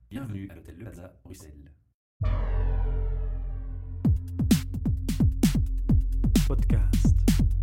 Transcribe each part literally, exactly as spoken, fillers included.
Bienvenue à l'hôtel Le Plaza, Bruxelles. Podcast.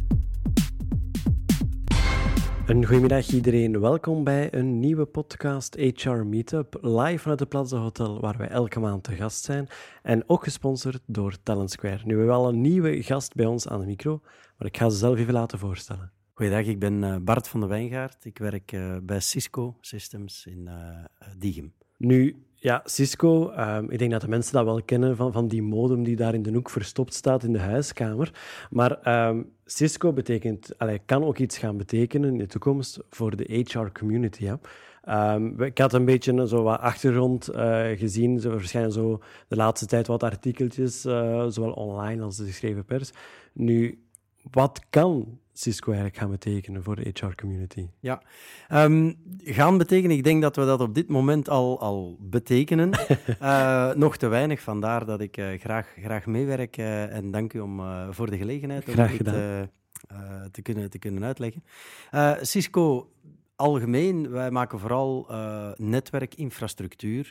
Een goedemiddag iedereen, welkom bij een nieuwe podcast H R Meetup, live vanuit het Plaza Hotel, waar wij elke maand te gast zijn en ook gesponsord door Talent Square. Nu, we hebben al een nieuwe gast bij ons aan de micro, maar ik ga ze zelf even laten voorstellen. Goeiedag, ik ben Bart van de Wijngaard. Ik werk uh, bij Cisco Systems in uh, Diegem. Nu, ja, Cisco, um, ik denk dat de mensen dat wel kennen van, van die modem die daar in de hoek verstopt staat in de huiskamer. Maar um, Cisco betekent, allee, kan ook iets gaan betekenen in de toekomst voor de H R-community. Ja. Um, ik had een beetje zo wat achtergrond uh, gezien. Er verschijnen zo de laatste tijd wat artikeltjes, uh, zowel online als de geschreven pers. Nu, wat kan Cisco eigenlijk gaan betekenen voor de H R-community? Ja, um, gaan betekenen, ik denk dat we dat op dit moment al, al betekenen. uh, nog te weinig, vandaar dat ik uh, graag, graag meewerk. Uh, en dank u om, uh, voor de gelegenheid graag om gedaan. het uh, uh, te, kunnen, te kunnen uitleggen. Uh, Cisco, algemeen, wij maken vooral uh, netwerkinfrastructuur.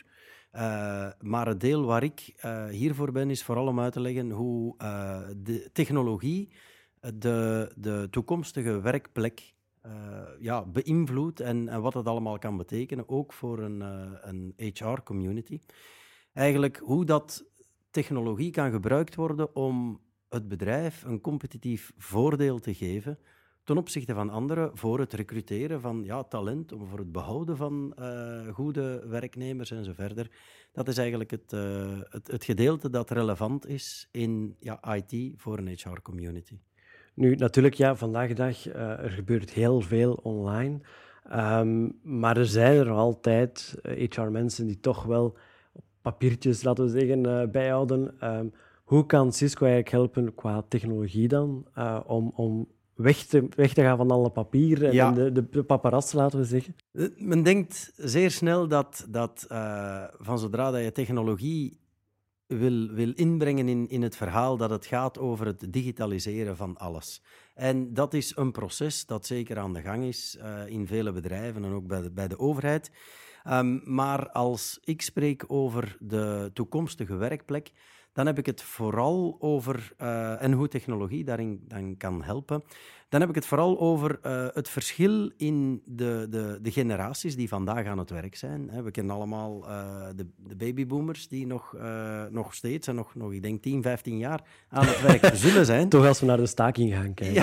Uh, maar het deel waar ik uh, hiervoor ben, is vooral om uit te leggen hoe uh, de technologie De, de toekomstige werkplek uh, ja, beïnvloedt en, en wat dat allemaal kan betekenen, ook voor een, uh, een H R-community. Eigenlijk hoe dat technologie kan gebruikt worden om het bedrijf een competitief voordeel te geven ten opzichte van anderen voor het recruteren van ja, talent, of voor het behouden van uh, goede werknemers en zo verder. Dat is eigenlijk het, uh, het, het gedeelte dat relevant is in ja, I T voor een H R-community. Nu, natuurlijk, ja, vandaag de dag, uh, er gebeurt heel veel online. Um, maar er zijn er altijd uh, H R-mensen die toch wel papiertjes, laten we zeggen, uh, bijhouden. Um, hoe kan Cisco eigenlijk helpen qua technologie dan, uh, om, om weg, te, weg te gaan van alle papieren en ja. de, de, de paparazzi, laten we zeggen? Men denkt zeer snel dat, dat uh, van zodra dat je technologie Wil, wil inbrengen in, in het verhaal dat het gaat over het digitaliseren van alles. En dat is een proces dat zeker aan de gang is uh, in vele bedrijven en ook bij de, bij de overheid. Um, maar als ik spreek over de toekomstige werkplek, dan heb ik het vooral over, uh, en hoe technologie daarin dan kan helpen, dan heb ik het vooral over uh, het verschil in de, de, de generaties die vandaag aan het werk zijn. We kennen allemaal uh, de, de babyboomers die nog, uh, nog steeds, en nog, nog, ik denk tien, vijftien jaar aan het werk zullen zijn. Toch als we naar de staking gaan kijken.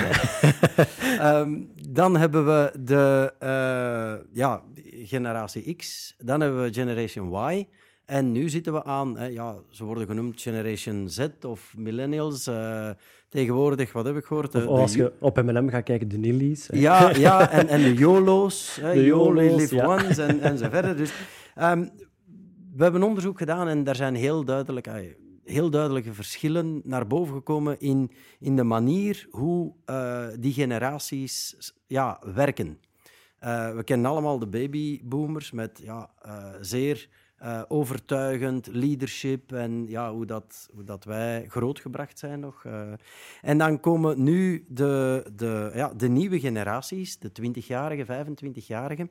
Ja. um, dan hebben we de uh, ja, generatie X, dan hebben we Generation Y. En nu zitten we aan, hè, ja, ze worden genoemd Generation Z of Millennials. Uh, tegenwoordig, wat heb ik gehoord? Of als je op M en M gaat kijken, de Nillies. Ja, ja en, en de YOLO's. Hè, de You only YOLO's, live ja. once en, en zo verder. Dus, um, we hebben onderzoek gedaan en daar zijn heel, duidelijk, uh, heel duidelijke verschillen naar boven gekomen in, in de manier hoe uh, die generaties ja, werken. Uh, we kennen allemaal de babyboomers met ja, uh, zeer... Uh, overtuigend, leadership en ja, hoe, dat, hoe dat wij grootgebracht zijn nog. Uh, en dan komen nu de, de, ja, de nieuwe generaties, de twintigjarigen, vijfentwintigjarigen.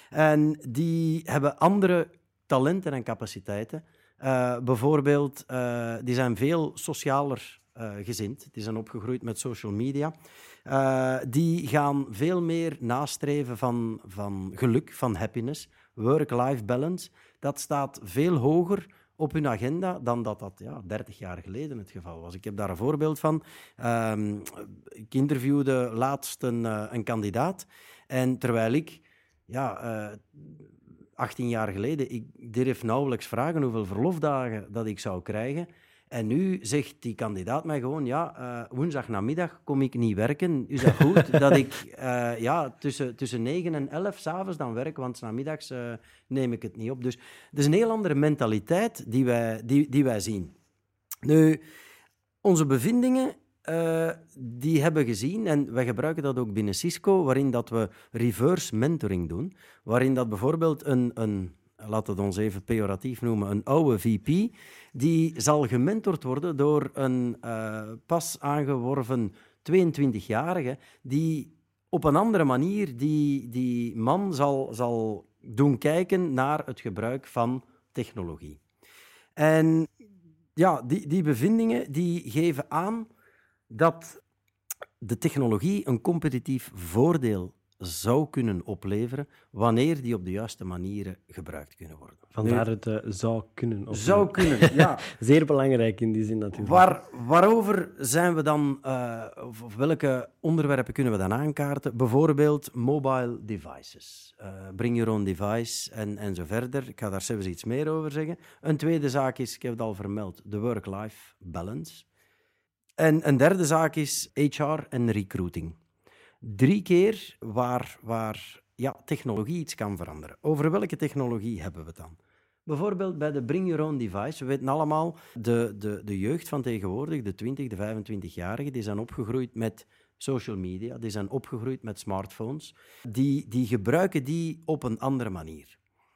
En die hebben andere talenten en capaciteiten. Uh, bijvoorbeeld, uh, die zijn veel socialer uh, gezind. Die zijn opgegroeid met social media. Uh, die gaan veel meer nastreven van, van geluk, van happiness, work-life balance. Dat staat veel hoger op hun agenda dan dat dat ja, dertig jaar geleden het geval was. Ik heb daar een voorbeeld van. Um, ik interviewde laatst een, uh, een kandidaat. En terwijl ik ja, uh, achttien jaar geleden, ik durf nauwelijks vragen hoeveel verlofdagen dat ik zou krijgen. En nu zegt die kandidaat mij gewoon, ja, uh, woensdagnamiddag kom ik niet werken. Is dat goed dat ik uh, ja, tussen, tussen negen en elf 's avonds dan werk, want 's namiddags uh, neem ik het niet op. Dus het is een heel andere mentaliteit die wij, die, die wij zien. Nu, onze bevindingen, uh, die hebben gezien, en wij gebruiken dat ook binnen Cisco, waarin dat we reverse mentoring doen, waarin dat bijvoorbeeld een... een laten we het ons even pejoratief noemen, een oude V P, die zal gementord worden door een uh, pas aangeworven tweeëntwintigjarige die op een andere manier die, die man zal, zal doen kijken naar het gebruik van technologie. En ja, die, die bevindingen die geven aan dat de technologie een competitief voordeel zou kunnen opleveren wanneer die op de juiste manieren gebruikt kunnen worden. Vandaar Nu, het uh, zou kunnen. Opleveren. zou kunnen, ja. Zeer belangrijk in die zin natuurlijk. Waar, waarover zijn we dan, uh, of, of welke onderwerpen kunnen we dan aankaarten? Bijvoorbeeld mobile devices. Uh, bring your own device en, en zo verder. Ik ga daar zelfs iets meer over zeggen. Een tweede zaak is, ik heb het al vermeld, de work-life balance. En een derde zaak is H R en recruiting. Drie keer waar, waar ja, technologie iets kan veranderen. Over welke technologie hebben we het dan? Bijvoorbeeld bij de Bring Your Own Device. We weten allemaal, de, de, de jeugd van tegenwoordig, de twintig, de vijfentwintigjarigen, die zijn opgegroeid met social media, die zijn opgegroeid met smartphones. Die, die gebruiken die op een andere manier.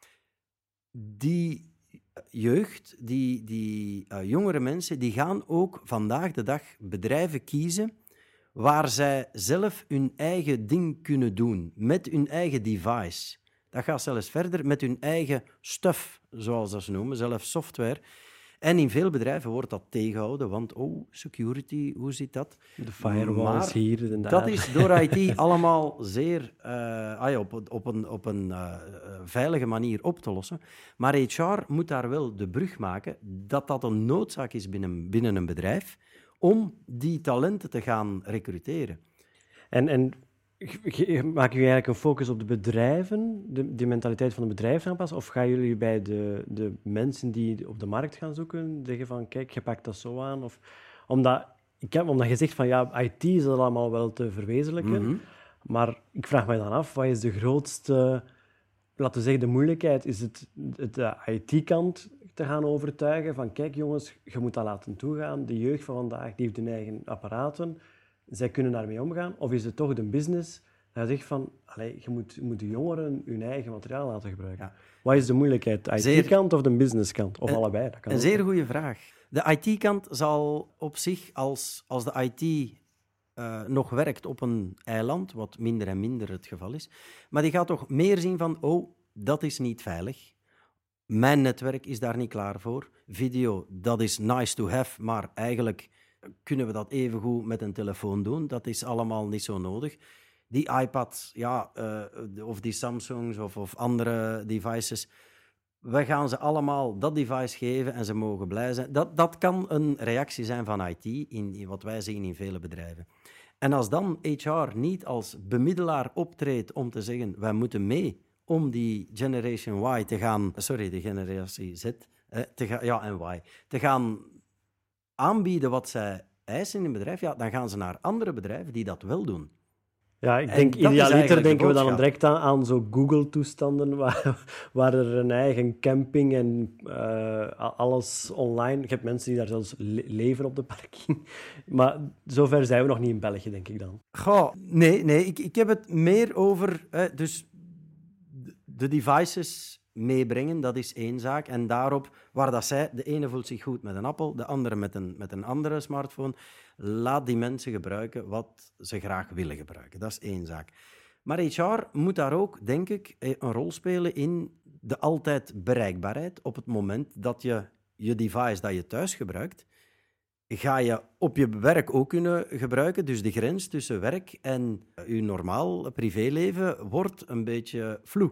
Die jeugd, die, die uh, jongere mensen, die gaan ook vandaag de dag bedrijven kiezen waar zij zelf hun eigen ding kunnen doen, met hun eigen device. Dat gaat zelfs verder met hun eigen stuff, zoals dat ze noemen, zelfs software. En in veel bedrijven wordt dat tegengehouden, want oh, security, hoe zit dat? De firewalls hier en daar. Dat is door I T allemaal zeer uh, ah ja, op, op een, op een uh, veilige manier op te lossen. Maar H R moet daar wel de brug maken dat dat een noodzaak is binnen, binnen een bedrijf om die talenten te gaan recruteren. En, en maak je eigenlijk een focus op de bedrijven, de, de mentaliteit van de bedrijven aanpassen, of gaan jullie bij de, de mensen die op de markt gaan zoeken zeggen van kijk, je pakt dat zo aan? Of, omdat, ik heb, omdat je zegt van ja, I T is dat allemaal wel te verwezenlijken, mm-hmm. maar ik vraag me dan af, wat is de grootste, laten we zeggen, de moeilijkheid? Is het, het de I T-kant te gaan overtuigen van kijk jongens, je moet dat laten toegaan. De jeugd van vandaag die heeft hun eigen apparaten. Zij kunnen daarmee omgaan. Of is het toch de business dat zegt van allez, je moet, je moet de jongeren hun eigen materiaal laten gebruiken? Ja. Wat is de moeilijkheid? De I T-kant of de businesskant? Of een, allebei? Dat kan een ook. Zeer goede vraag. De I T-kant zal op zich, als, als de I T uh, nog werkt op een eiland, wat minder en minder het geval is, maar die gaat toch meer zien van oh, dat is niet veilig. Mijn netwerk is daar niet klaar voor. Video, dat is nice to have, maar eigenlijk kunnen we dat evengoed met een telefoon doen. Dat is allemaal niet zo nodig. Die iPads, ja, uh, of die Samsungs of, of andere devices, we gaan ze allemaal dat device geven en ze mogen blij zijn. Dat, dat kan een reactie zijn van I T, in, in wat wij zien in vele bedrijven. En als dan H R niet als bemiddelaar optreedt om te zeggen, wij moeten mee om die Generation Y te gaan, sorry, de generatie Z, eh, te ga, ja, en Y, te gaan aanbieden wat zij eisen in een bedrijf, ja, dan gaan ze naar andere bedrijven die dat wel doen. Ja, ik denk, idealiter denken we dan direct aan, aan zo Google-toestanden, waar, waar er een eigen camping en uh, alles online... Je hebt mensen die daar zelfs le- leven op de parking. Maar zover zijn we nog niet in België, denk ik dan. Goh, nee, nee ik, ik heb het meer over... Eh, dus de devices meebrengen, dat is één zaak. En daarop, waar dat zij... De ene voelt zich goed met een Apple, de andere met een, met een andere smartphone. Laat die mensen gebruiken wat ze graag willen gebruiken. Dat is één zaak. Maar H R moet daar ook, denk ik, een rol spelen in de altijd bereikbaarheid. Op het moment dat je je device dat je thuis gebruikt, ga je op je werk ook kunnen gebruiken. Dus de grens tussen werk en je normaal privéleven wordt een beetje vloe.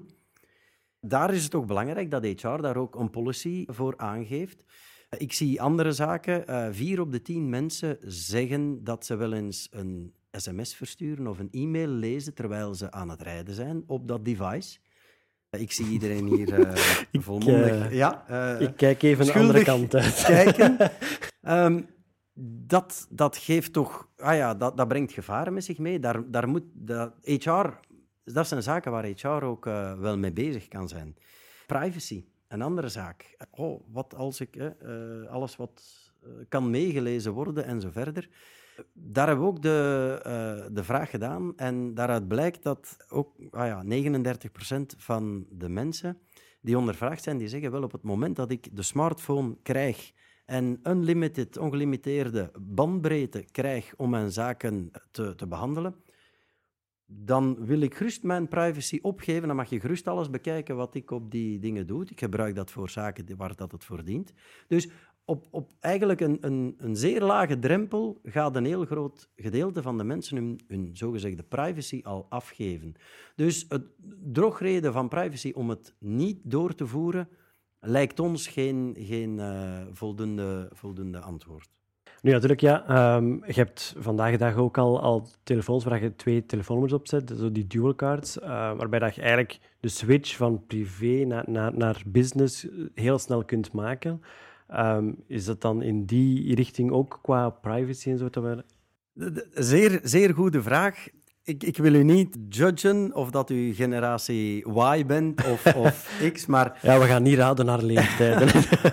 Daar is het ook belangrijk dat H R daar ook een policy voor aangeeft. Ik zie andere zaken. Uh, vier op de tien mensen zeggen dat ze wel eens een sms versturen of een e-mail lezen terwijl ze aan het rijden zijn op dat device. Uh, ik zie iedereen hier uh, volmondig... Uh, ja, uh, ik kijk even de andere kant uit. Kijken. um, dat, dat geeft toch... Ah ja, dat, dat brengt gevaren met zich mee. Daar, daar moet... Dat, H R... Dat zijn zaken waar H R ook uh, wel mee bezig kan zijn. Privacy. Een andere zaak. Oh, wat als ik eh, uh, alles wat uh, kan meegelezen worden en zo verder. Daar hebben we ook de, uh, de vraag gedaan en daaruit blijkt dat ook ah ja, negenendertig procent van de mensen die ondervraagd zijn, die zeggen wel op het moment dat ik de smartphone krijg en unlimited, ongelimiteerde bandbreedte krijg om mijn zaken te, te behandelen, dan wil ik gerust mijn privacy opgeven. Dan mag je gerust alles bekijken wat ik op die dingen doe. Ik gebruik dat voor zaken waar dat het voor dient. Dus op, op eigenlijk een, een, een zeer lage drempel gaat een heel groot gedeelte van de mensen hun, hun zogezegde privacy al afgeven. Dus het drogreden van privacy om het niet door te voeren lijkt ons geen, geen uh, voldoende, voldoende antwoord. Nu natuurlijk, ja. Um, je hebt vandaag de dag ook al, al telefoons waar je twee telefoonnummers op zet, zo die dual cards, uh, waarbij dat je eigenlijk de switch van privé naar, naar, naar business heel snel kunt maken. Um, is dat dan in die richting ook qua privacy en zo te worden? Zeer, zeer goede vraag. Ik, ik wil u niet judgen of dat u generatie Y bent of, of X, maar... Ja, we gaan niet raden naar leeftijden.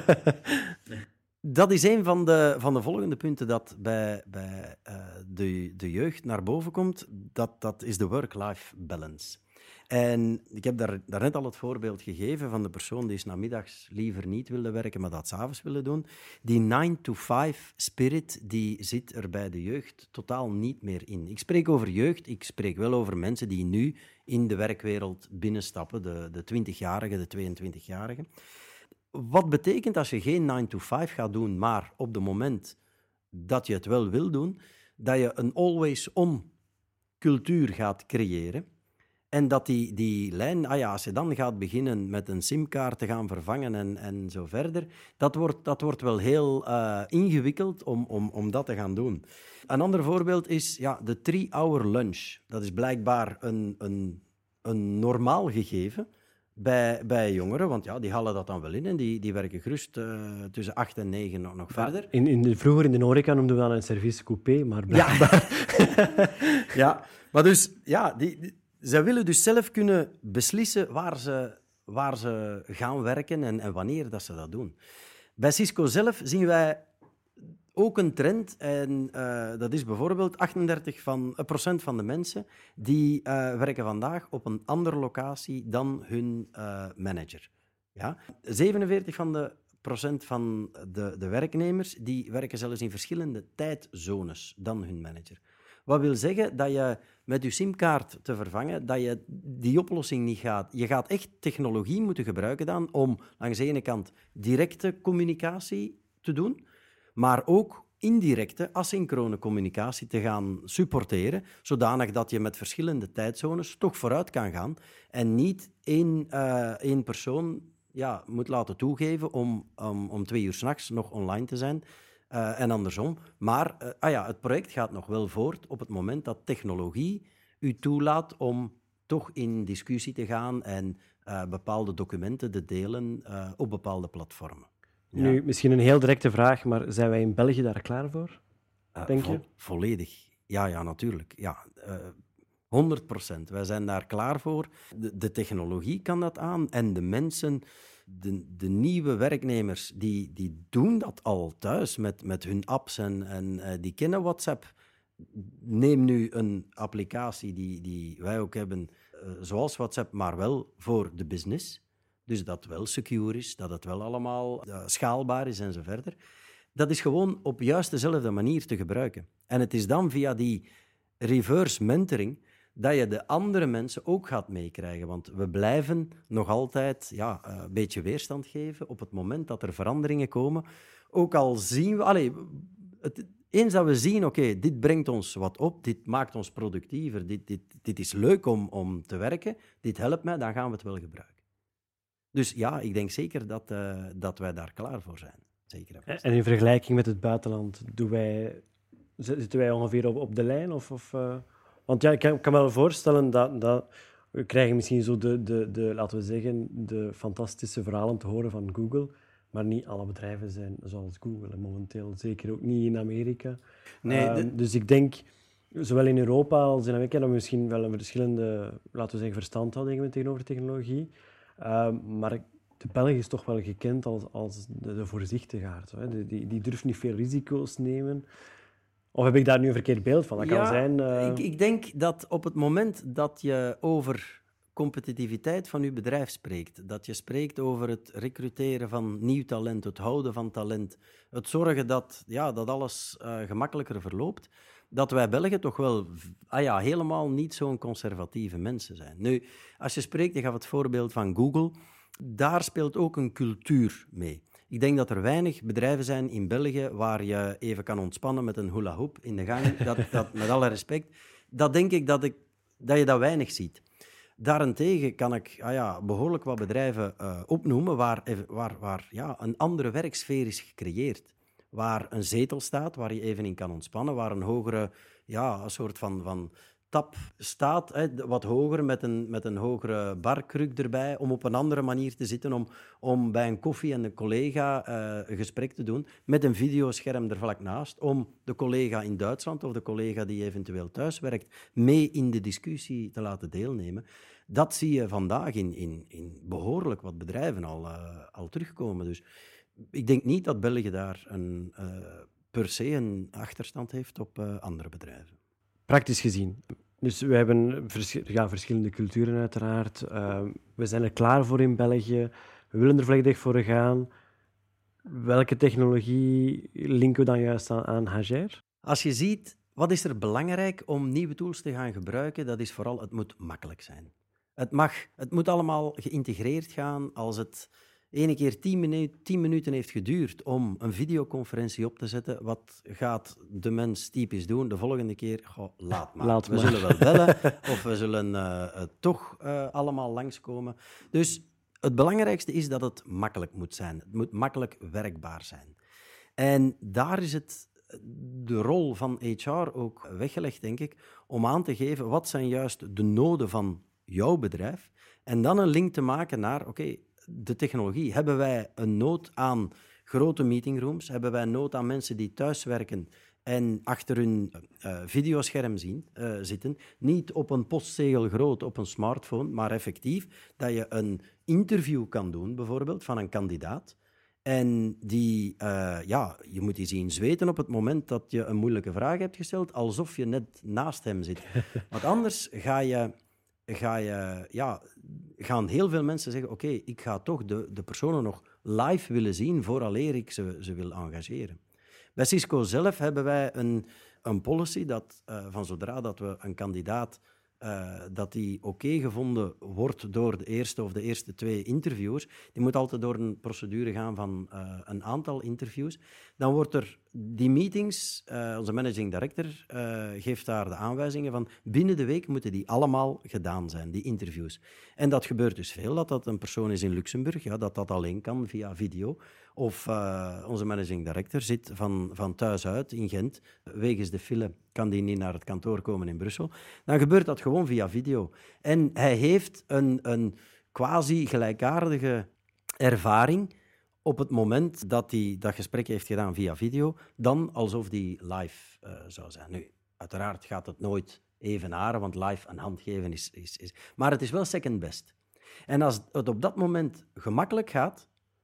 Dat is een van de, van de volgende punten dat bij, bij uh, de, de jeugd naar boven komt. Dat, dat is de work-life balance. En ik heb daar, daarnet al het voorbeeld gegeven van de persoon die 's namiddags liever niet wilde werken, maar dat 's avonds wilde doen. Die nine to five spirit die zit er bij de jeugd totaal niet meer in. Ik spreek over jeugd, ik spreek wel over mensen die nu in de werkwereld binnenstappen, de, de twintigjarigen, de tweeëntwintigjarigen. Wat betekent als je geen nine to five gaat doen, maar op het moment dat je het wel wil doen, dat je een always-on cultuur gaat creëren. En dat die, die lijn, ah ja, als je dan gaat beginnen met een simkaart te gaan vervangen en, en zo verder, dat wordt, dat wordt wel heel uh, ingewikkeld om, om, om dat te gaan doen. Een ander voorbeeld is ja, de three-hour lunch. Dat is blijkbaar een, een, een normaal gegeven bij, bij jongeren, want ja, die halen dat dan wel in en die, die werken gerust uh, tussen acht en negen nog, nog verder. In, in de, vroeger in de horeca noemden we dat een service coupé, maar blijkbaar... Ja, ja maar dus, ja... Die, die, zij willen dus zelf kunnen beslissen waar ze, waar ze gaan werken en, en wanneer dat ze dat doen. Bij Cisco zelf zien wij ook een trend. En uh, dat is bijvoorbeeld achtendertig procent van de mensen die uh, werken vandaag op een andere locatie dan hun uh, manager. Ja? zevenenveertig procent van de, de werknemers die werken zelfs in verschillende tijdzones dan hun manager. Wat wil zeggen dat je met je simkaart te vervangen, dat je die oplossing niet gaat. Je gaat echt technologie moeten gebruiken dan om langs de ene kant directe communicatie te doen, maar ook indirecte, asynchrone communicatie te gaan supporteren, zodanig dat je met verschillende tijdzones toch vooruit kan gaan en niet één, uh, één persoon ja, moet laten toegeven om, om, om twee uur 's nachts nog online te zijn. Uh, en andersom. Maar uh, ah ja, het project gaat nog wel voort op het moment dat technologie u toelaat om toch in discussie te gaan en uh, bepaalde documenten te delen uh, op bepaalde platformen. Ja. Nu, misschien een heel directe vraag, maar zijn wij in België daar klaar voor, Uh, denk vo- je? Volledig. Ja, ja, natuurlijk. Ja, uh, honderd procent. Wij zijn daar klaar voor. De, de technologie kan dat aan en de mensen... De, de nieuwe werknemers die, die doen dat al thuis met, met hun apps en, en uh, die kennen WhatsApp. Neem nu een applicatie die, die wij ook hebben, uh, zoals WhatsApp, maar wel voor de business. Dus dat wel secure is, dat het wel allemaal uh, schaalbaar is en zo verder. Dat is gewoon op juist dezelfde manier te gebruiken. En het is dan via die reverse mentoring dat je de andere mensen ook gaat meekrijgen. Want we blijven nog altijd ja, een beetje weerstand geven op het moment dat er veranderingen komen. Ook al zien we... Allez, het, eens dat we zien, oké, okay, dit brengt ons wat op, dit maakt ons productiever, dit, dit, dit is leuk om, om te werken, dit helpt mij, dan gaan we het wel gebruiken. Dus ja, ik denk zeker dat, uh, dat wij daar klaar voor zijn. Zeker. En in vergelijking met het buitenland, doen wij, zitten wij ongeveer op, op de lijn? Of... of uh... Want ja, ik kan, ik kan me wel voorstellen dat, dat we krijgen misschien zo de, de, de, laten we zeggen, de fantastische verhalen te horen van Google, maar niet alle bedrijven zijn zoals Google. En momenteel zeker ook niet in Amerika. Nee, uh, de... Dus ik denk, zowel in Europa als in Amerika, dat we misschien wel een verschillende, laten we zeggen, verstandhouding hebben tegenover technologie. Uh, maar de Belg is toch wel gekend als, als de, de voorzichtigaard. Hè. Die, die, die durft niet veel risico's nemen. Of heb ik daar nu een verkeerd beeld van? Dat kan ja, zijn... Uh... Ik, ik denk dat op het moment dat je over competitiviteit van je bedrijf spreekt, dat je spreekt over het recruteren van nieuw talent, het houden van talent, het zorgen dat, ja, dat alles uh, gemakkelijker verloopt, dat wij Belgen toch wel ah ja, helemaal niet zo'n conservatieve mensen zijn. Nu, als je spreekt, ik gaf het voorbeeld van Google, daar speelt ook een cultuur mee. Ik denk dat er weinig bedrijven zijn in België waar je even kan ontspannen met een hula hoop in de gang. Dat, dat, met alle respect. Dat denk ik dat, ik dat je dat weinig ziet. Daarentegen kan ik ah ja, behoorlijk wat bedrijven uh, opnoemen waar, waar, waar ja, een andere werksfeer is gecreëerd. Waar een zetel staat, waar je even in kan ontspannen, waar een hogere, ja, een soort van, van tap staat, hè, wat hoger, met een, met een hogere barkruk erbij, om op een andere manier te zitten, om, om bij een koffie en een collega uh, een gesprek te doen, met een videoscherm er vlak naast, om de collega in Duitsland of de collega die eventueel thuis werkt, mee in de discussie te laten deelnemen. Dat zie je vandaag in, in, in behoorlijk wat bedrijven al, uh, al terugkomen. Dus ik denk niet dat België daar een, uh, per se een achterstand heeft op uh, andere bedrijven. Praktisch gezien. Dus we hebben vers- ja, verschillende culturen uiteraard. Uh, we zijn er klaar voor in België. We willen er volledig voor gaan. Welke technologie linken we dan juist aan, aan Hager? Als je ziet, wat is er belangrijk om nieuwe tools te gaan gebruiken, dat is vooral, het moet makkelijk zijn. Het, mag, het moet allemaal geïntegreerd gaan. Als het ene keer tien, minu- tien minuten heeft geduurd om een videoconferentie op te zetten, wat gaat de mens typisch doen? De volgende keer, goh, laat maar. Laat we maar. zullen wel bellen of we zullen uh, uh, toch uh, allemaal langskomen. Dus het belangrijkste is dat het makkelijk moet zijn. Het moet makkelijk werkbaar zijn. En daar is het de rol van H R ook weggelegd, denk ik, om aan te geven wat zijn juist de noden van jouw bedrijf en dan een link te maken naar, oké, okay, de technologie. Hebben wij een nood aan grote meetingrooms? Hebben wij nood aan mensen die thuiswerken en achter hun uh, videoscherm zien, uh, zitten? Niet op een postzegel groot op een smartphone, maar effectief dat je een interview kan doen, bijvoorbeeld, van een kandidaat. En die, uh, ja, je moet die zien zweten op het moment dat je een moeilijke vraag hebt gesteld, alsof je net naast hem zit. Want anders ga je... Ga je, ja, gaan heel veel mensen zeggen, oké, okay, ik ga toch de, de personen nog live willen zien vooraleer ik ze, ze wil engageren. Bij Cisco zelf hebben wij een, een policy dat uh, van zodra dat we een kandidaat, uh, dat die oké okay gevonden wordt door de eerste of de eerste twee interviewers, die moet altijd door een procedure gaan van uh, een aantal interviews, dan wordt er die meetings, uh, onze managing director uh, geeft daar de aanwijzingen van binnen de week moeten die allemaal gedaan zijn, die interviews. En dat gebeurt dus veel, dat dat een persoon is in Luxemburg, ja, dat dat alleen kan via video. Of uh, onze managing director zit van, van thuis uit in Gent, wegens de file kan die niet naar het kantoor komen in Brussel. Dan gebeurt dat gewoon via video. En hij heeft een, een quasi gelijkaardige ervaring op het moment dat hij dat gesprek heeft gedaan via video, dan alsof die live uh, zou zijn. Nu, uiteraard gaat het nooit evenaren, want live een hand geven is, is, is... Maar het is wel second best. En als het op dat moment gemakkelijk gaat,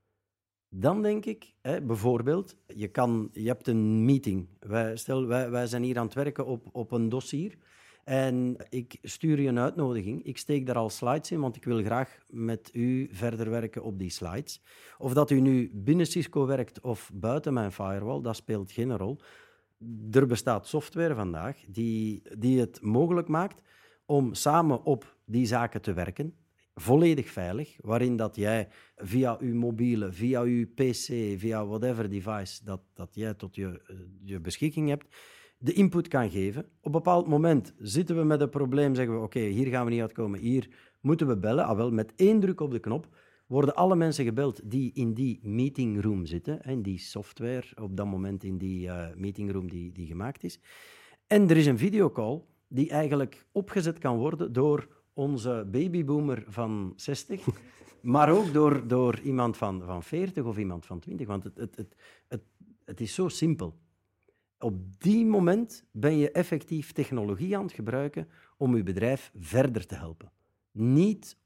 dan denk ik, hè, bijvoorbeeld, je, kan, je hebt een meeting. Wij, stel, wij, wij zijn hier aan het werken op, op een dossier. En ik stuur je een uitnodiging. Ik steek daar al slides in, want ik wil graag met u verder werken op die slides. Of dat u nu binnen Cisco werkt of buiten mijn firewall, dat speelt geen rol. Er bestaat software vandaag die, die het mogelijk maakt om samen op die zaken te werken. Volledig veilig, waarin dat jij via je mobiele, via je P C, via whatever device dat, dat jij tot je, je beschikking hebt, de input kan geven. Op een bepaald moment zitten we met een probleem, zeggen we, oké, okay, hier gaan we niet uitkomen, hier moeten we bellen. Ah, wel, met één druk op de knop worden alle mensen gebeld die in die meetingroom zitten, in die software, op dat moment in die uh, meetingroom die, die gemaakt is. En er is een videocall die eigenlijk opgezet kan worden door onze babyboomer van zestig, maar ook door, door iemand van, van veertig of iemand van twintig. Want het, het, het, het, het is zo simpel. Op die moment ben je effectief technologie aan het gebruiken om je bedrijf verder te helpen. Niet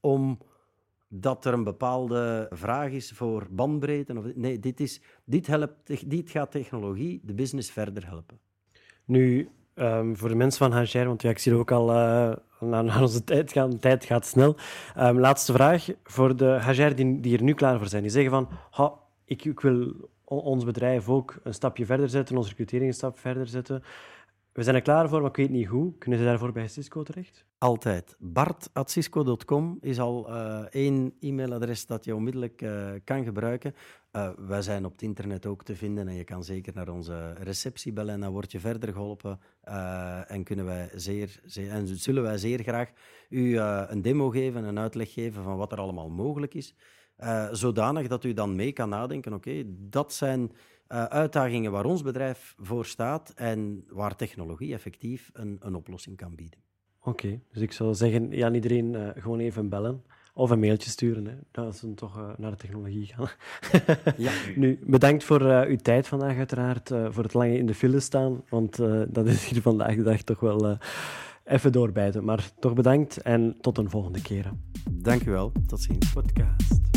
omdat er een bepaalde vraag is voor bandbreedte. Of, nee, dit, is, dit, helpt, dit gaat technologie de business verder helpen. Nu, um, voor de mensen van Hager, want ja, ik zie ook al uh, naar, naar onze tijd gaan. De tijd gaat snel. Um, laatste vraag. Voor de Hager die, die er nu klaar voor zijn. Die zeggen van, ha, ik, ik wil ons bedrijf ook een stapje verder zetten, onze recrutering een stap verder zetten. We zijn er klaar voor, maar ik weet niet hoe. Kunnen ze daarvoor bij Cisco terecht? Altijd. bart at cisco dot com is al uh, één e-mailadres dat je onmiddellijk uh, kan gebruiken. Uh, wij zijn op het internet ook te vinden en je kan zeker naar onze receptie bellen en dan word je verder geholpen. Uh, en, kunnen wij zeer, zeer, en zullen wij zeer graag u uh, een demo geven, een uitleg geven van wat er allemaal mogelijk is. Uh, zodanig dat u dan mee kan nadenken, oké, okay, dat zijn uh, uitdagingen waar ons bedrijf voor staat en waar technologie effectief een, een oplossing kan bieden. Oké, okay, dus ik zou zeggen, ja, iedereen uh, gewoon even bellen of een mailtje sturen, hè, dat ze toch uh, naar de technologie gaan. Ja. Nu, bedankt voor uh, uw tijd vandaag uiteraard, uh, voor het lange in de file staan, want uh, dat is hier vandaag de dag toch wel uh, even doorbijten. Maar toch bedankt en tot een volgende keer. Dank u wel, tot ziens. Podcast.